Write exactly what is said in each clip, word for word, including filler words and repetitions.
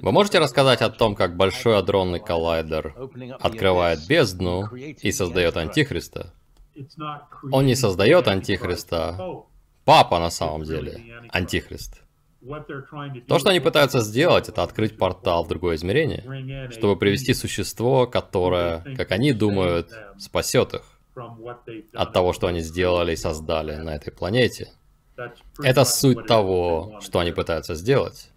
Вы можете рассказать о том, как Большой адронный коллайдер открывает бездну и создает Антихриста? Он не создает Антихриста. Папа на самом деле Антихрист. То, что они пытаются сделать, это открыть портал в другое измерение, чтобы привести существо, которое, как они думают, спасет их от того, что они сделали и создали на этой планете. Это суть того, что они пытаются сделать.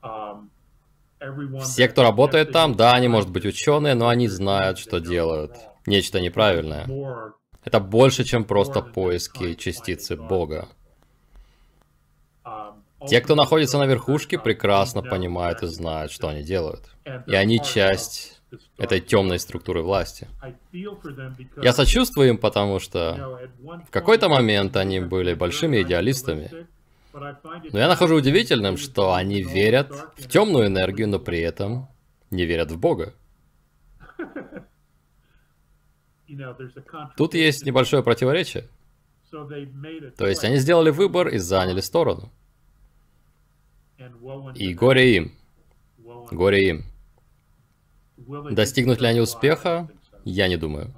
Все, кто работает там, да, они, может быть, ученые, но они знают, что делают нечто неправильное. Это больше, чем просто поиски частицы Бога. Те, кто находится на верхушке, прекрасно понимают и знают, что они делают. И они часть этой темной структуры власти. Я сочувствую им, потому что в какой-то момент они были большими идеалистами. Но я нахожу удивительным, что они верят в темную энергию, но при этом не верят в Бога. Тут есть небольшое противоречие. То есть они сделали выбор и заняли сторону. И горе им. Горе им. Достигнут ли они успеха? Я не думаю.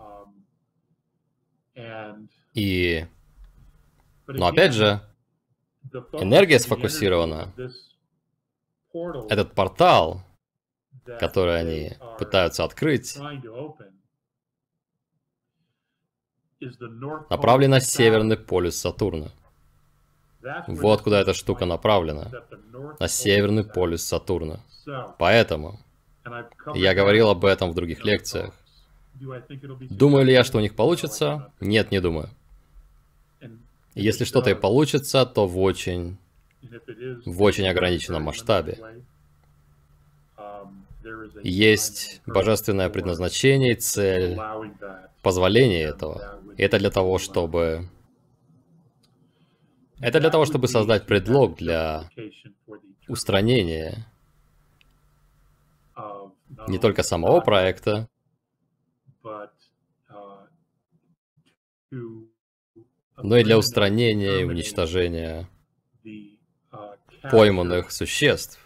И... Но опять же, энергия сфокусирована. Этот портал, который они пытаются открыть, направлен на северный полюс Сатурна. Вот куда эта штука направлена. На северный полюс Сатурна. Поэтому я говорил об этом в других лекциях. Думаю ли я, что у них получится? Нет, не думаю. Если что-то и получится, то в очень, в очень ограниченном масштабе. Есть божественное предназначение и цель позволения этого. И это для того, чтобы... Это для того, чтобы создать предлог для устранения не только самого проекта, но и для устранения и уничтожения пойманных существ,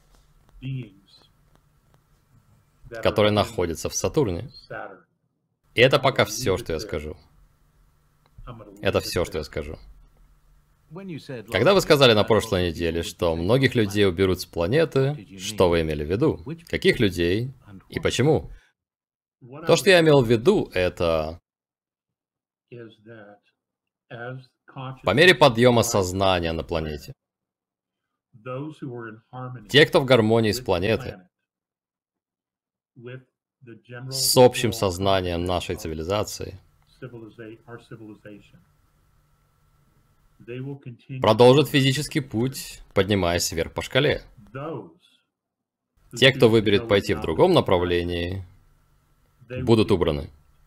которые находятся в Сатурне. И это пока все, что я скажу. Это все, что я скажу. Когда вы сказали на прошлой неделе, что многих людей уберут с планеты, что вы имели в виду? Каких людей и почему? То, что я имел в виду, это... По мере подъема сознания на планете, те, кто в гармонии с планетой, с общим сознанием нашей цивилизации, продолжат физический путь, поднимаясь вверх по шкале. Те, кто выберет пойти в другом направлении, будут убраны.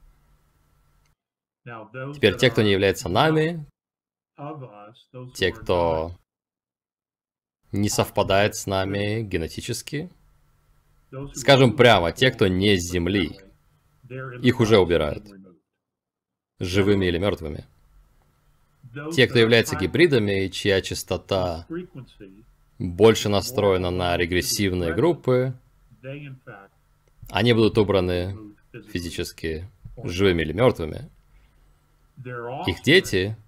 Теперь те, кто не является нами, те, кто не совпадает с нами генетически, скажем прямо, те, кто не с Земли, их уже убирают, живыми или мертвыми. Те, кто является гибридами, чья частота больше настроена на регрессивные группы, они будут убраны физически живыми или мертвыми. Их дети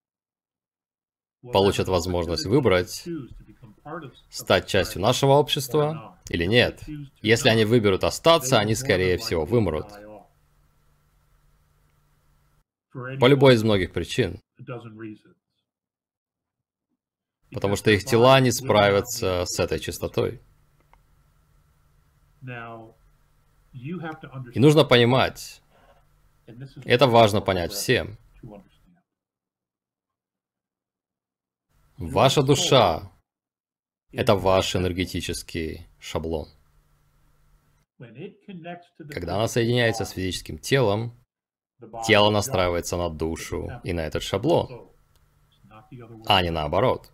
получат возможность выбрать, стать частью нашего общества или нет. Если они выберут остаться, они, скорее всего, вымрут. По любой из многих причин. Потому что их тела не справятся с этой частотой. И нужно понимать, это важно понять всем. Ваша душа — это ваш энергетический шаблон. Когда она соединяется с физическим телом, тело настраивается на душу и на этот шаблон, а не наоборот.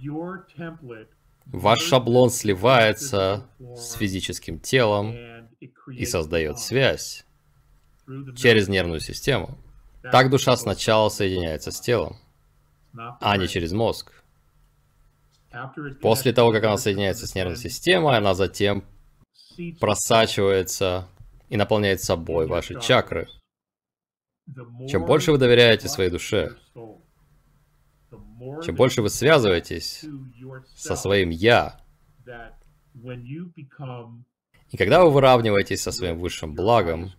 Ваш шаблон сливается с физическим телом и создает связь через нервную систему. Так душа сначала соединяется с телом, а не через мозг. После того, как она соединяется с нервной системой, она затем просачивается и наполняет собой ваши чакры. Чем больше вы доверяете своей душе, чем больше вы связываетесь со своим «я», и когда вы выравниваетесь со своим высшим благом,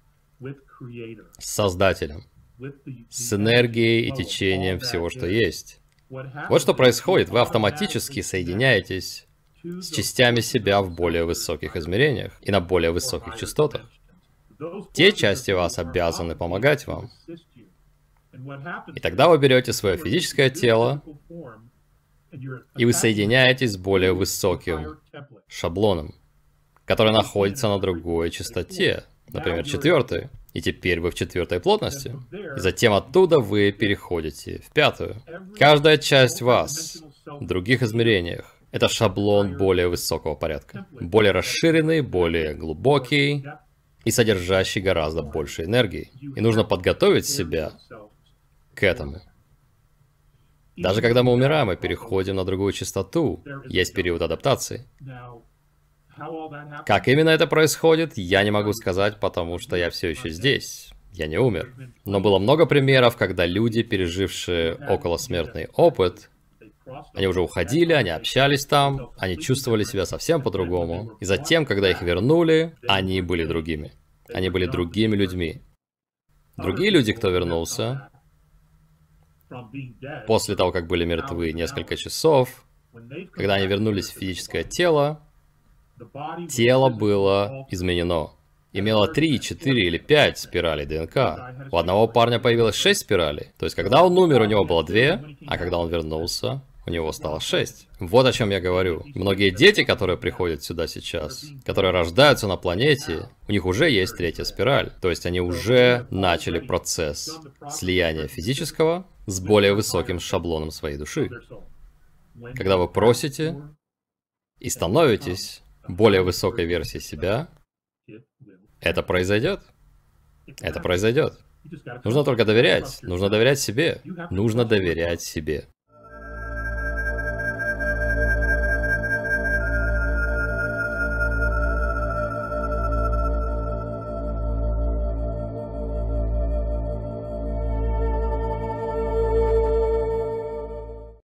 с Создателем, с энергией и течением всего, что есть, вот что происходит, вы автоматически соединяетесь с частями себя в более высоких измерениях и на более высоких частотах. Те части вас обязаны помогать вам. И тогда вы берете свое физическое тело, и вы соединяетесь с более высоким шаблоном, который находится на другой частоте, например, четвертой. И теперь вы в четвертой плотности. И затем оттуда вы переходите в пятую. Каждая часть вас в других измерениях — это шаблон более высокого порядка. Более расширенный, более глубокий и содержащий гораздо больше энергии. И нужно подготовить себя к этому. Даже когда мы умираем и переходим на другую частоту, есть период адаптации. Как именно это происходит, я не могу сказать, потому что я все еще здесь. Я не умер. Но было много примеров, когда люди, пережившие околосмертный опыт, они уже уходили, они общались там, они чувствовали себя совсем по-другому. И затем, когда их вернули, они были другими. Они были другими людьми. Другие люди, кто вернулся, после того, как были мертвы несколько часов, когда они вернулись в физическое тело, тело было изменено. Имело три, четыре или пять спиралей ДНК. У одного парня появилось шесть спиралей. То есть, когда он умер, у него было две, а когда он вернулся, у него стало шесть. Вот о чем я говорю. Многие дети, которые приходят сюда сейчас, которые рождаются на планете, у них уже есть третья спираль. То есть, они уже начали процесс слияния физического с более высоким шаблоном своей души. Когда вы просите и становитесь более высокой версией себя, это произойдет. Это произойдет. Нужно только доверять. Нужно доверять себе. Нужно доверять себе.